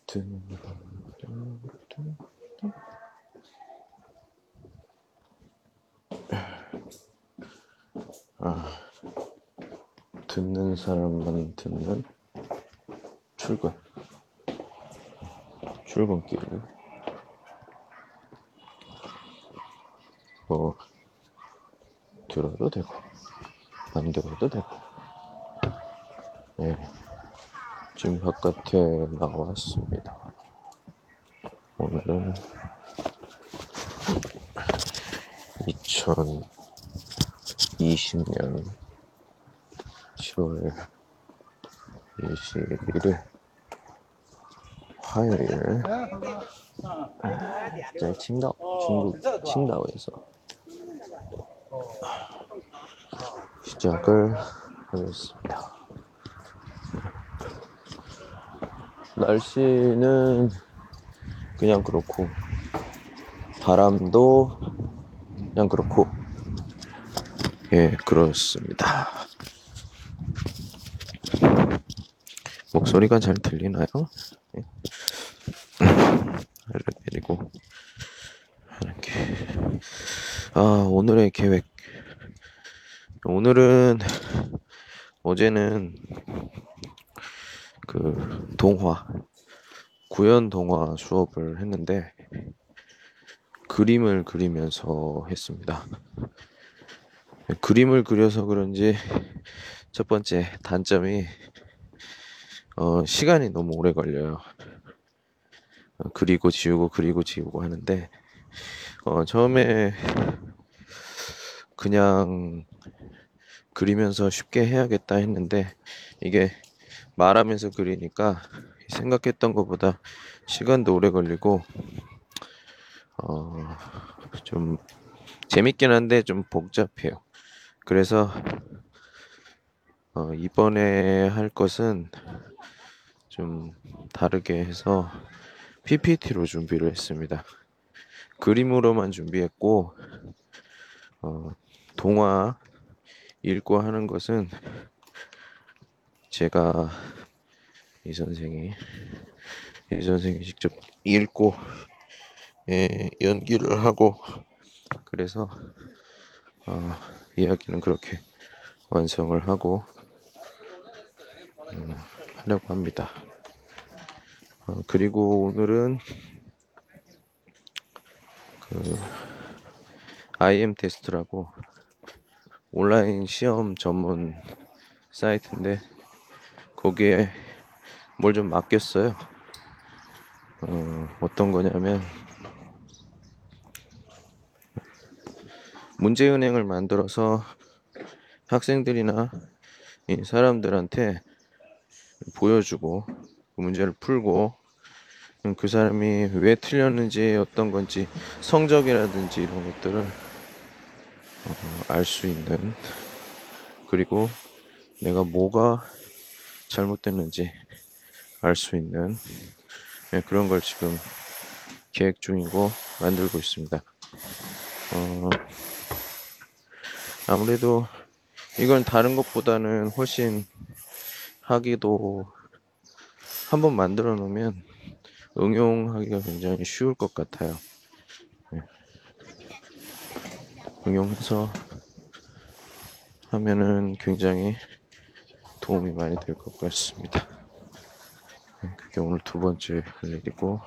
듣는 사람만 듣는 출근길. 뭐 들어도 되고 안 들어도 되고. 네, 지금 바깥에 나왔습니다. 오늘은 2020년 7월 21일 화요일,在중국 칭다오에서 시작을 하겠습니다. 날씨는 그냥 그렇고, 바람도 그냥 그렇고, 예, 그렇습니다. 목소리가 잘 들리나요? 예. 알려드리고 하는 게, 오늘의 계획. 오늘은, 어제는 그 구연 동화 수업을 했는데 그림을 그리면서 했습니다. 그림을 그려서 그런지 첫 번째 단점이 시간이 너무 오래 걸려요. 그리고 지우고 하는데 처음에 그냥 그리면서 쉽게 해야겠다 했는데 이게 말하면서 그리니까 생각했던 것보다 시간도 오래 걸리고 좀 재밌긴 한데 좀 복잡해요. 그래서 이번에 할 것은 좀 다르게 해서 PPT로 준비를 했습니다. 그림으로만 준비했고 동화 읽고 하는 것은 제가 이 선생이 직접 읽고 연기를 하고 그래서 이야기는 그렇게 완성을 하고 하려고 합니다. 그리고 오늘은 IM 테스트라고 온라인 시험 전문 사이트인데 거기에 뭘 좀 맡겼어요. 어떤 거냐면 문제은행을 만들어서 학생들이나 사람들한테 보여주고 그 문제를 풀고 그 사람이 왜 틀렸는지 어떤 건지 성적이라든지 이런 것들을 알 수 있는, 그리고 내가 뭐가 잘못됐는지 알 수 있는 그런 걸 지금 계획 중이고 만들고 있습니다. 아무래도 이건 다른 것보다는 훨씬 하기도 한번 만들어 놓으면 응용하기가 굉장히 쉬울 것 같아요. 응용해서 하면은 굉장히 도움이 많이 될 것 같습니다. 그게 오늘 두 번째 할 일이고,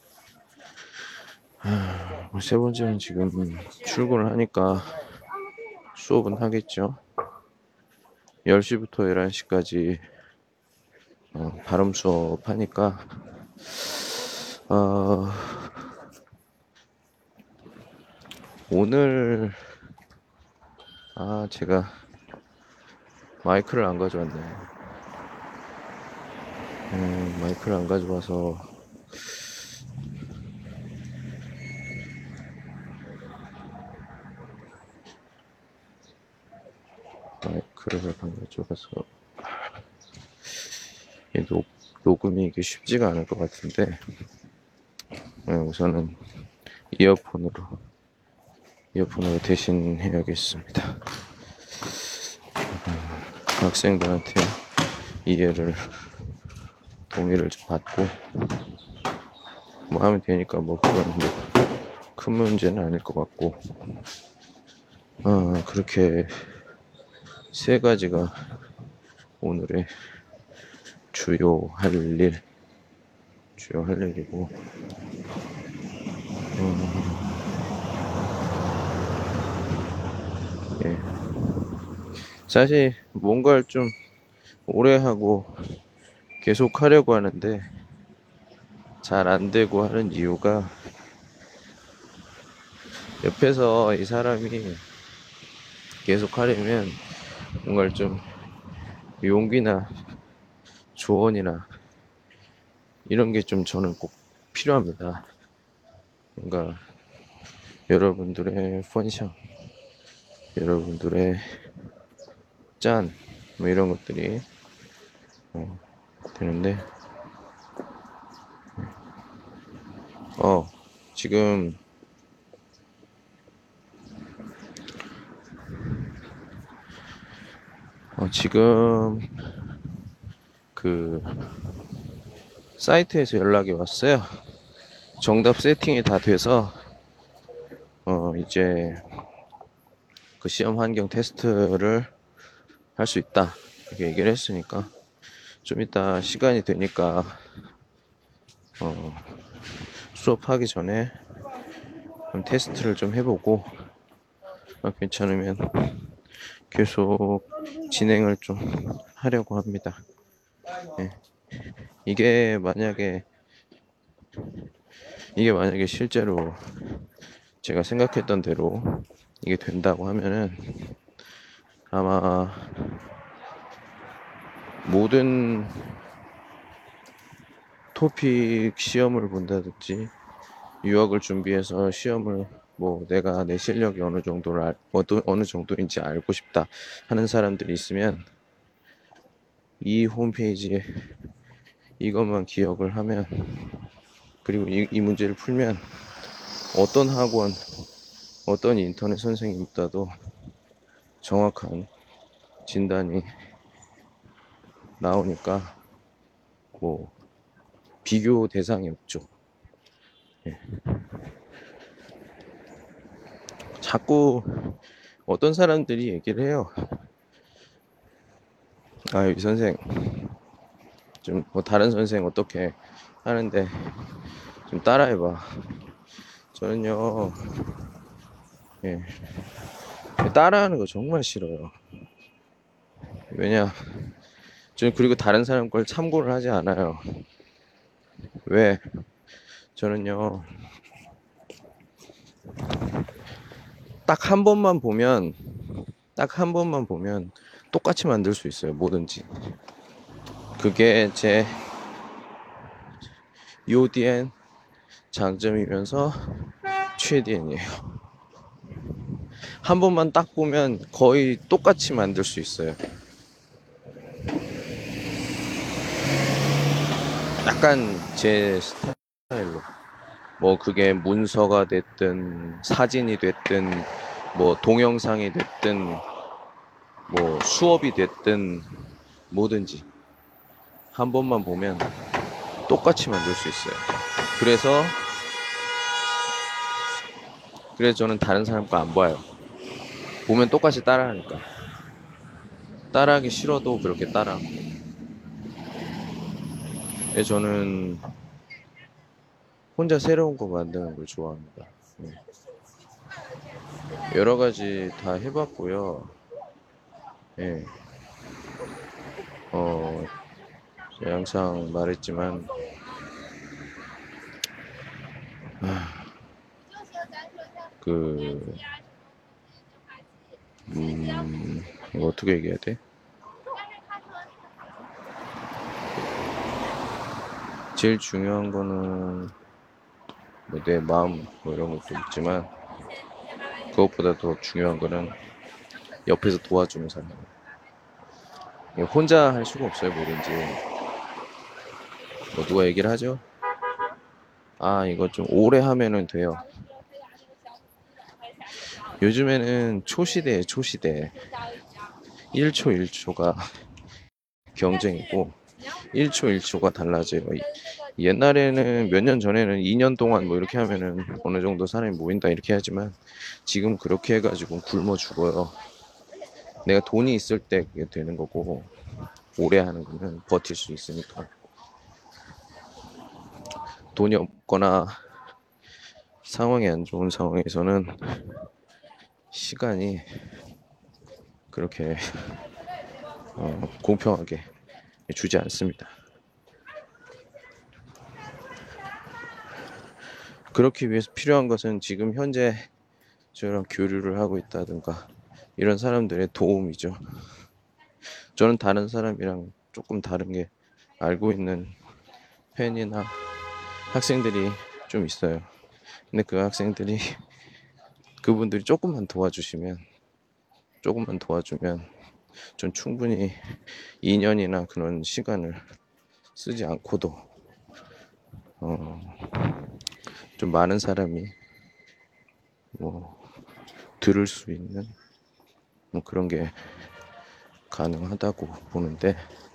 세 번째는 지금 출근을 하니까 수업은 하겠죠. 10시부터 11시까지 발음 수업 하니까 오늘 제가 마이크를 안 가져왔네요. 마이크를 안 가져와서 녹음이 이게 쉽지가 않을 것 같은데 우선은 이어폰으로 대신 해야겠습니다. 학생들한테 동의를 좀 받고 뭐 하면 되니까 뭐 그건 뭐 큰 문제는 아닐 것 같고, 그렇게 세 가지가 오늘의 주요 할 일이고, 예. 사실 뭔가를 좀 오래 하고 계속 하려고 하는데 잘 안 되고 하는 이유가, 옆에서 이 사람이 계속 하려면 뭔가를 좀 용기나 조언이나 이런 게 좀 저는 꼭 필요합니다. 뭔가 여러분들의 펀션, 여러분들의 짠, 뭐 이런 것들이 되는데, 지금 지금 그 사이트에서 연락이 왔어요. 정답 세팅이 다 돼서 이제 그 시험 환경 테스트를 할 수 있다 이렇게 얘기를 했으니까, 좀 이따 시간이 되니까 수업하기 전에 테스트를 좀 해보고, 괜찮으면 계속 진행을 좀 하려고 합니다. 예. 이게 만약에 실제로 제가 생각했던 대로 이게 된다고 하면은, 아마 모든 토픽 시험을 본다든지 유학을 준비해서 시험을, 뭐 내가 내 실력이 어느 정도인지 알고 싶다 하는 사람들이 있으면, 이 홈페이지에 이것만 기억을 하면, 그리고 이 문제를 풀면 어떤 학원, 어떤 인터넷 선생님보다도 정확한 진단이 나오니까 뭐 비교 대상이 없죠. 예. 자꾸 어떤 사람들이 얘기를 해요. 이 선생 좀 뭐 다른 선생 어떻게 하는데 좀 따라해봐. 저는요, 예, 따라하는 거 정말 싫어요. 왜냐, 저는 그리고 다른 사람 걸 참고를 하지 않아요. 왜? 저는요, 딱 한 번만 보면 똑같이 만들 수 있어요, 뭐든지. 그게 제 EODN 장점이면서 최대한이에요. 한 번만 딱 보면 거의 똑같이 만들 수 있어요. 약간 제 스타일로, 뭐 그게 문서가 됐든 사진이 됐든 뭐 동영상이 됐든 뭐 수업이 됐든 뭐든지 한 번만 보면 똑같이 만들 수 있어요. 그래서 저는 다른 사람 거 안 봐요. 보면 똑같이 따라하니까. 따라하기 싫어도 그렇게 따라. 저는 혼자 새로운 거 만드는 걸 좋아합니다. 여러 가지 다 해봤고요. 예. 제가 항상 말했지만, 그, 이거 어떻게 얘기해야 돼? 제일 중요한 거는 뭐 내 마음 뭐 이런 것도 있지만, 그것보다 더 중요한 거는 옆에서 도와주는 사람. 혼자 할 수가 없어요, 뭐든지. 뭐 누가 얘기를 하죠? 이거 좀 오래 하면은 돼요. 요즘에는 초시대에 초시대. 1초 1초가 경쟁이고 1초 1초가 달라져요. 옛날에는 몇 년 전에는 2년 동안 뭐 이렇게 하면은 어느 정도 사람이 모인다 이렇게 하지만 지금 그렇게 해가지고 굶어 죽어요. 내가 돈이 있을 때 그게 되는 거고 오래 하는 거는 버틸 수 있으니까. 돈이 없거나 상황이 안 좋은 상황에서는 시간이 그렇게 공평하게 주지 않습니다. 그렇기 위해서 필요한 것은 지금 현재 저랑 교류를 하고 있다든가 이런 사람들의 도움이죠. 저는 다른 사람이랑 조금 다른 게 알고 있는 팬이나 학생들이 좀 있어요. 근데 그 학생들이 그분들이 조금만 도와주면 전 충분히 2년이나 그런 시간을 쓰지 않고도 좀 많은 사람이 뭐 들을 수 있는 뭐 그런 게 가능하다고 보는데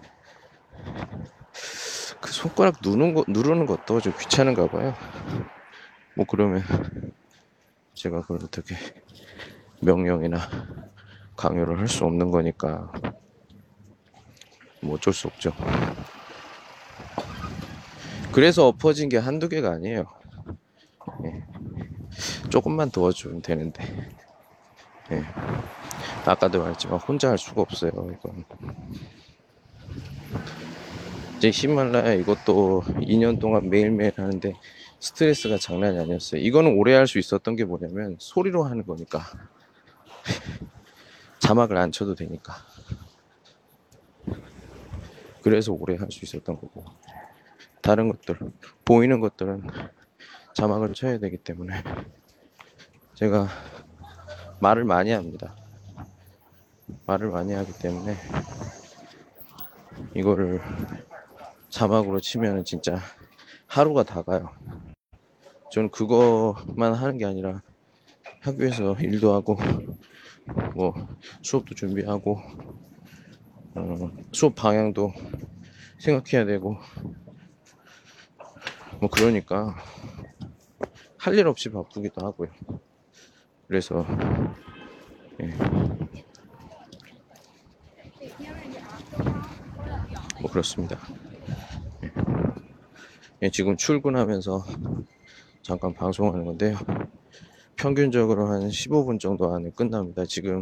그 손가락 누르는 것도 좀 귀찮은가 봐요. 뭐 그러면 제가 그걸 어떻게 명령이나 강요를 할 수 없는 거니까 뭐 어쩔 수 없죠. 그래서 엎어진 게 한두 개가 아니에요. 예. 조금만 도와주면 되는데 예. 아까도 말했지만 혼자 할 수가 없어요. 이건 이제 히말라야 이것도 2년 동안 매일매일 하는데 스트레스가 장난이 아니었어요. 이거는 오래 할 수 있었던 게 뭐냐면 소리로 하는 거니까 자막을 안 쳐도 되니까 그래서 오래 할 수 있었던 거고 다른 것들 보이는 것들은 자막을 쳐야 되기 때문에 제가 말을 많이 합니다. 말을 많이 하기 때문에 이거를 자막으로 치면은 진짜 하루가 다 가요. 저는 그거만 하는 게 아니라 학교에서 일도 하고 뭐 수업도 준비하고 수업 방향도 생각해야 되고 뭐 그러니까 할 일 없이 바쁘기도 하고요. 그래서 예. 뭐 그렇습니다. 예, 지금 출근하면서 잠깐 방송하는 건데요. 평균적으로 한 15분 정도 안에 끝납니다. 지금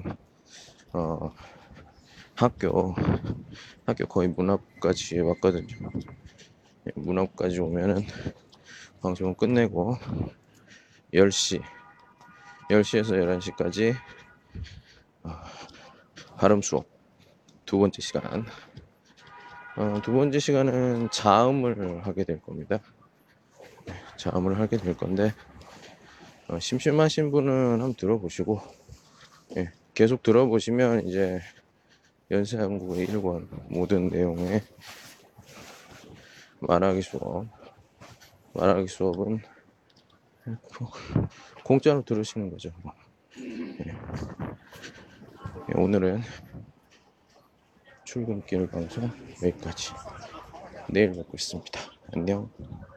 학교 거의 문 앞까지 왔거든요. 예, 문 앞까지 오면은 방송을 끝내고 10시에서 11시까지 발음 수업 두 번째 시간. 두 번째 시간은 자음을 하게 될 겁니다. 자음을 하게 될 건데 심심하신 분은 한번 들어보시고 예, 계속 들어보시면 이제 연세한국어 1권 모든 내용의 말하기 수업은 공짜로 들으시는 거죠. 예. 오늘은 출근길 방송 여기까지. 내일 뵙겠습니다. 안녕.